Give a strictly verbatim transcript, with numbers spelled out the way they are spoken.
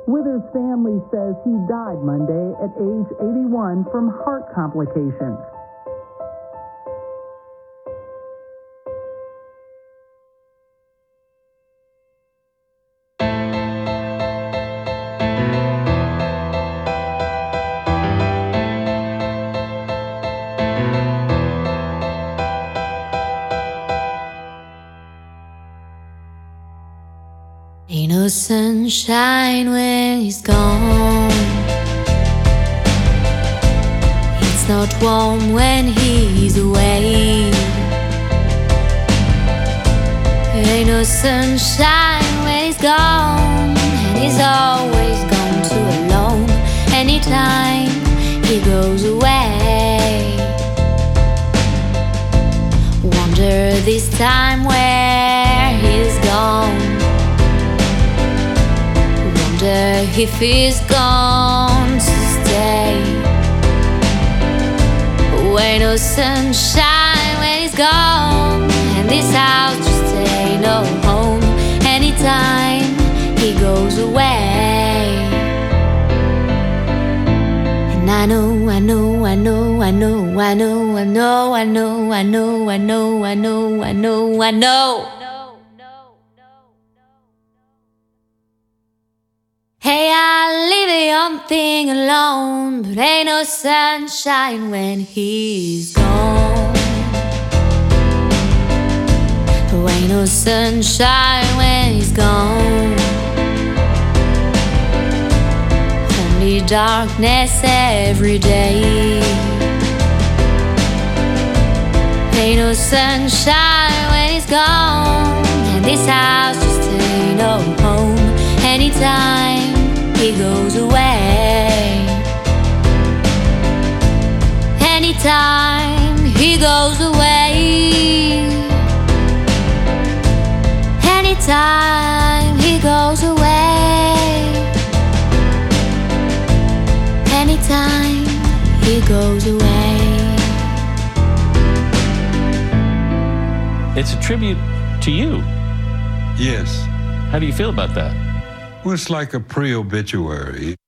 Withers' family says he died Monday at age eighty-one from heart complications. Ain't no sunshine when he's gone. It's not warm when he's away. Ain't no sunshine when he's gone, and he's always gone too alone. Anytime he goes away, wonder this time where he's gone. If he's gone to stay. Ain't no sunshine when he's gone, and this house just ain't no home. Anytime he goes away. And I know, I know, I know, I know, I know, I know, I know, I know, I know, I know, I know, I know. Hey, I leave the young thing alone, but ain't no sunshine when he's gone. Oh, ain't no sunshine when he's gone. Only darkness every day. Ain't no sunshine when he's gone, and this house just ain't no home. Anytime he goes away. Anytime he goes away. Anytime he goes away. Anytime he goes away. It's a tribute to you. Yes. How do you feel about that? Well, it's like a pre-obituary.